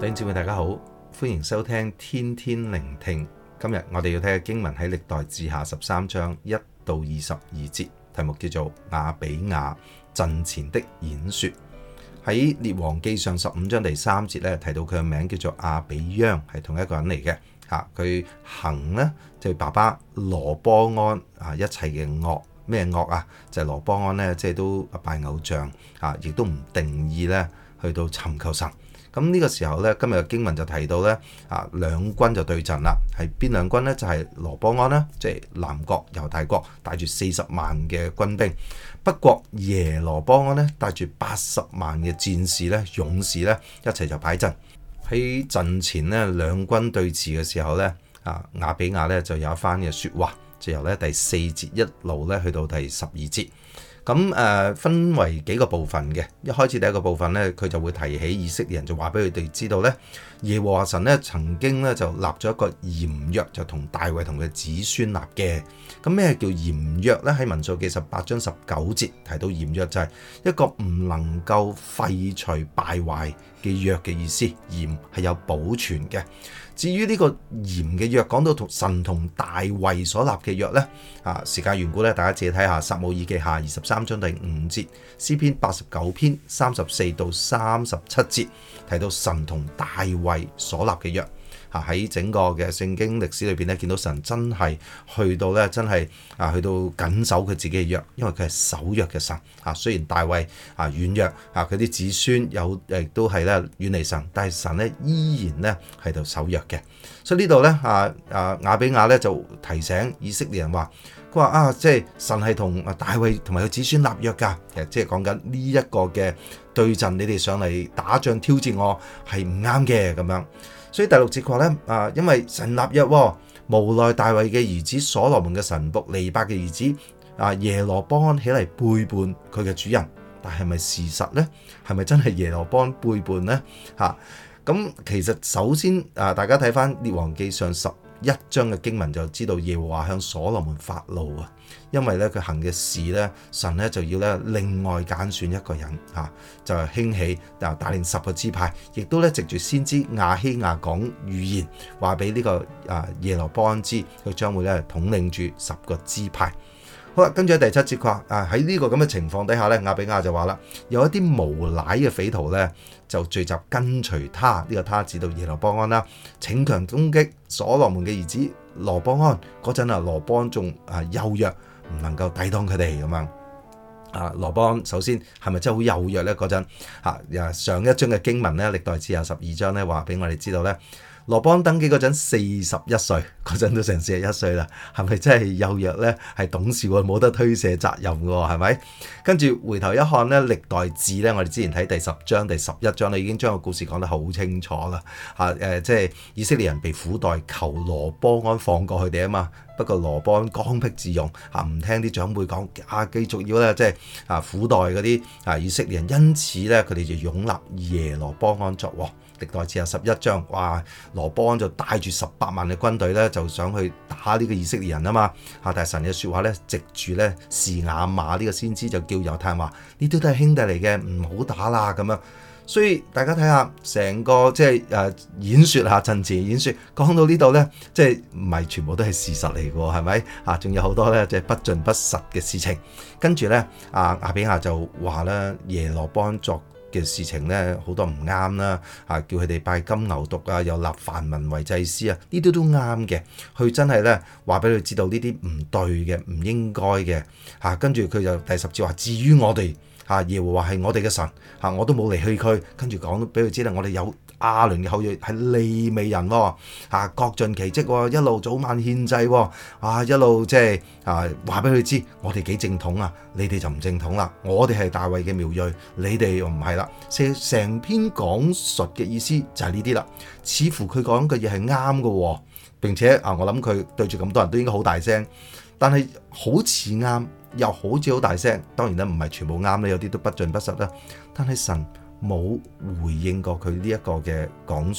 弟兄姊妹大家好，歡迎收聽天天聆聽。今日我哋要睇嘅經文喺歷代志下13章1到22節，題目叫做亞比亞陣前的演說。喺列王記上15章第3節咧提到佢嘅名叫做亞比央，係同一個人嚟嘅。佢行呢就係爸爸羅波安一切嘅惡。咩惡啊？就係羅波安呢，即係都拜偶像亦都唔定意咧去到尋求神。咁呢個時候咧，今日嘅經文就提到咧兩軍就對陣啦。係邊兩軍呢？就係羅波安啦，即係南國猶大國帶住40萬嘅軍兵；北國耶羅波安呢，帶住80萬嘅戰士咧、勇士咧一齊就擺陣。喺陣前呢，兩軍對峙嘅時候咧，亞比亞咧就有一番嘅説話，就由咧第4節一路咧去到第12節。咁分為幾個部分嘅。一開始第一個部分咧，佢就會提起以色列人，就話俾佢哋知道咧，耶和華神咧曾經咧就立咗一個嚴約，就同大衛同佢子孫立嘅。咁咩叫嚴約咧？喺民數記18章19節提到嚴約就係一個唔能夠廢除敗壞嘅約嘅意思，嚴係有保存嘅。至於呢個嚴嘅約，講到神同大衛所立嘅約呢，時間緣故咧，大家自己睇下撒母耳記下23章第5節，詩篇89篇34到37節提到神同大衛所立嘅約。喺整個嘅聖經歷史裏邊咧，見到神真係去到咧，真係去到緊守佢自己嘅約，因為佢係守約嘅神。雖然大衛軟弱，佢啲子孫亦都係咧遠離神，但係神咧依然咧喺度守約嘅。所以呢度咧亞比亞咧就提醒以色列人話，佢話即係神係同大衛同埋佢子孫立約㗎。其實即係講緊呢一個嘅對陣，你哋上嚟打仗挑戰我係唔啱嘅咁樣。所以第6節話咧，因為神立約，無奈大衛嘅兒子所羅門嘅臣僕尼八嘅兒子耶羅波安起嚟背叛佢嘅主人，但係咪事實呢？係咪真係耶羅波安背叛呢？咁其實首先大家睇翻列王記上11章嘅經文就知道耶和華向所羅門發怒啊，因為咧佢行嘅事咧，神咧就要咧另外揀選一個人就係興起帶領10個支派，亦都咧藉住先知亞希亞講預言，話俾呢個耶羅波安知，佢將會咧統領住10個支派。好啦，跟住喺第7節話喺呢個咁嘅情況底下咧，亞比亞就話啦，有一啲無賴嘅匪徒咧就聚集跟隨他，呢個他指到耶羅波安啦，逞強攻擊所羅門嘅兒子羅波安。嗰陣羅波安仲幼弱，唔能夠抵擋佢哋咁樣。羅波安首先係咪真係好幼弱咧？嗰陣上一章嘅經文咧，歷代志下12章咧話俾我哋知道咧，羅波安登基嗰陣41歲，嗰陣都成41歲啦，係咪真係幼弱呢？係懂事喎，冇得推卸責任嘅喎，係咪？跟住回頭一看呢，歷代志呢，我哋之前睇第10章、第11章咧，已經將個故事講得好清楚啦。即係以色列人被苦待，求羅波安放過佢哋啊嘛。不過羅波安剛愎自用，唔聽啲長輩講，繼續要咧即係苦待嗰啲以色列人，因此咧佢哋就擁立耶羅波安作王。歷代志下11章，哇！羅波安就帶住18萬嘅軍隊咧，就想去打呢個以色列人啊嘛。但係神嘅説話咧，藉住咧示亞瑪呢個先知就叫猶太人話：呢啲都係兄弟嚟嘅，唔好打啦咁樣。所以大家睇下成個即係演説陣前演説講到呢度咧，即係唔係全部都係事實嚟嘅喎？係咪？仲有好多咧即係不盡不實嘅事情。跟住咧，亞比亞就話咧耶羅波安作嘅事情咧好多唔啱啦，叫佢哋拜金牛犢又立凡民為祭司呢啲都啱嘅。佢真係咧話俾佢知道呢啲唔對嘅，唔應該嘅。跟住佢就第10節話：至於我哋耶和華係我哋嘅神，我都冇離棄佢。跟住講俾佢知啦，我哋有亞倫嘅後裔係利未人喎，各盡其職喎，一路早晚獻祭喎，一路即係話俾佢知，我哋幾正統啊，你哋就唔正統啦。我哋係大衛嘅苗裔，你哋又唔係啦。成篇講述嘅意思就係呢啲啦，似乎佢講嘅嘢係啱嘅，並且我諗佢對住咁多人都應該好大聲，但係好似啱，又好似好大聲。當然咧唔係全部啱咧，有啲都不盡不實啦。但係神冇回應過佢呢一個嘅講述，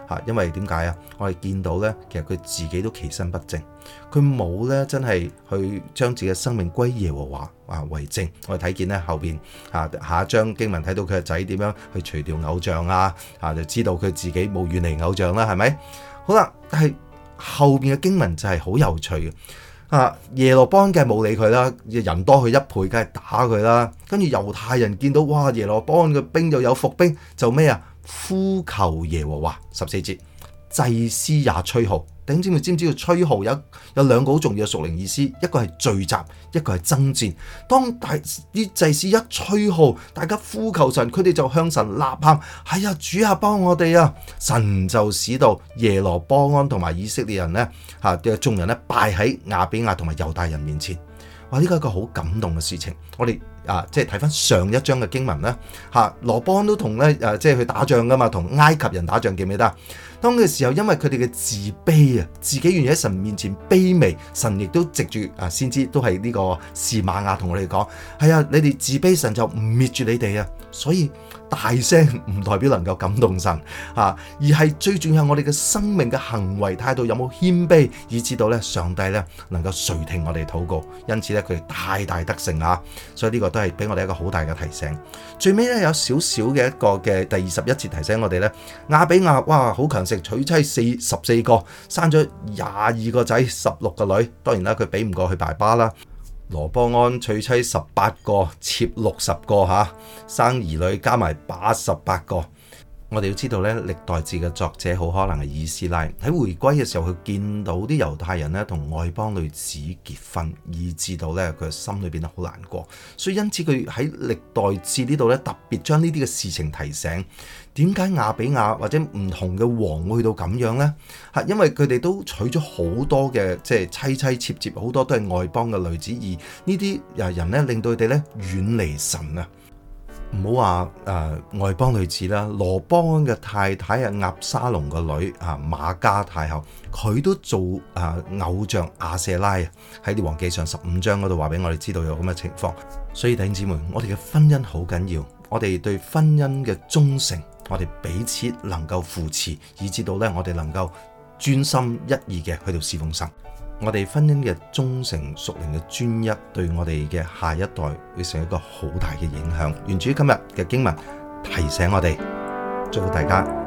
因為點解啊？我哋見到咧，其實佢自己都其身不正，佢冇咧真係去將自己嘅生命歸耶和華為正。我哋睇見咧後邊下一章經文睇到佢嘅仔點樣去除掉偶像就知道佢自己冇遠離偶像啦，係咪？好啦，但係後邊嘅經文就係好有趣嘅。耶羅波安梗係冇理佢啦，人多佢一倍，梗係打佢啦。跟住猶太人見到哇，耶羅波安嘅兵又有伏兵，就咩啊？呼求耶和華。14節，祭司也吹號。弟兄姊妹知唔知道吹號有兩個好重要嘅屬靈意思？一個係聚集，一個係爭戰。當啲祭司一吹號，大家呼求神，佢哋就向神吶喊：係啊，主啊，幫我哋啊！神就使到耶羅波安同埋以色列人咧嘅眾人咧敗喺亞比亞同埋猶大人面前。哇！呢個係一個好感動嘅事情。我哋即係睇翻上一章嘅經文啦。羅波安都同咧即係去打仗噶嘛，同埃及人打仗，記唔記得？當嘅時候，因為佢哋嘅自卑啊，自己願意喺神面前卑微，神亦都藉住先知都係呢個示瑪雅同我哋講：係啊，你哋自卑，神就唔滅住你哋啊！所以大聲唔代表能夠感動神而係最重要係我哋嘅生命嘅行為態度有冇謙卑，以至到咧上帝咧能夠垂聽我哋禱告。因此咧佢哋大大得勝所以呢個都係俾我哋一個好大嘅提醒。最尾咧有少少嘅一個嘅第21節提醒我哋咧，亞比亞哇好強盛，娶妻14個，生咗22個仔，16個女。當然啦，佢比唔過佢爸爸啦。羅波安娶妻18個，妾60個生兒女加埋88個。我哋要知道咧，歷代志嘅作者好可能係以斯拉喺回歸嘅時候，佢見到啲猶太人咧同外邦女子結婚，以致到咧佢心裏邊好難過，所以因此佢喺歷代志呢度咧特別將呢啲嘅事情提醒。點解亞比亞或者唔同嘅王會去到咁樣呢？因為佢哋都娶咗好多嘅即係妻妾妾，好多都係外邦嘅女子，而呢啲人咧令到佢哋咧遠離神啊！唔好話外邦女子啦，羅波安嘅太太押沙龍個女瑪迦太后，佢都做偶像亞舍拉喺列王記上15章嗰度話俾我哋知道有咁嘅情況。所以弟兄姊妹，我哋嘅婚姻好緊要，我哋對婚姻嘅忠誠，我哋彼此能夠扶持，以至到咧我哋能夠專心一意嘅去到侍奉神。我哋婚姻嘅忠誠屬靈嘅專一，對我哋嘅下一代會成一個好大嘅影響。願主今日嘅經文提醒我哋，祝福大家。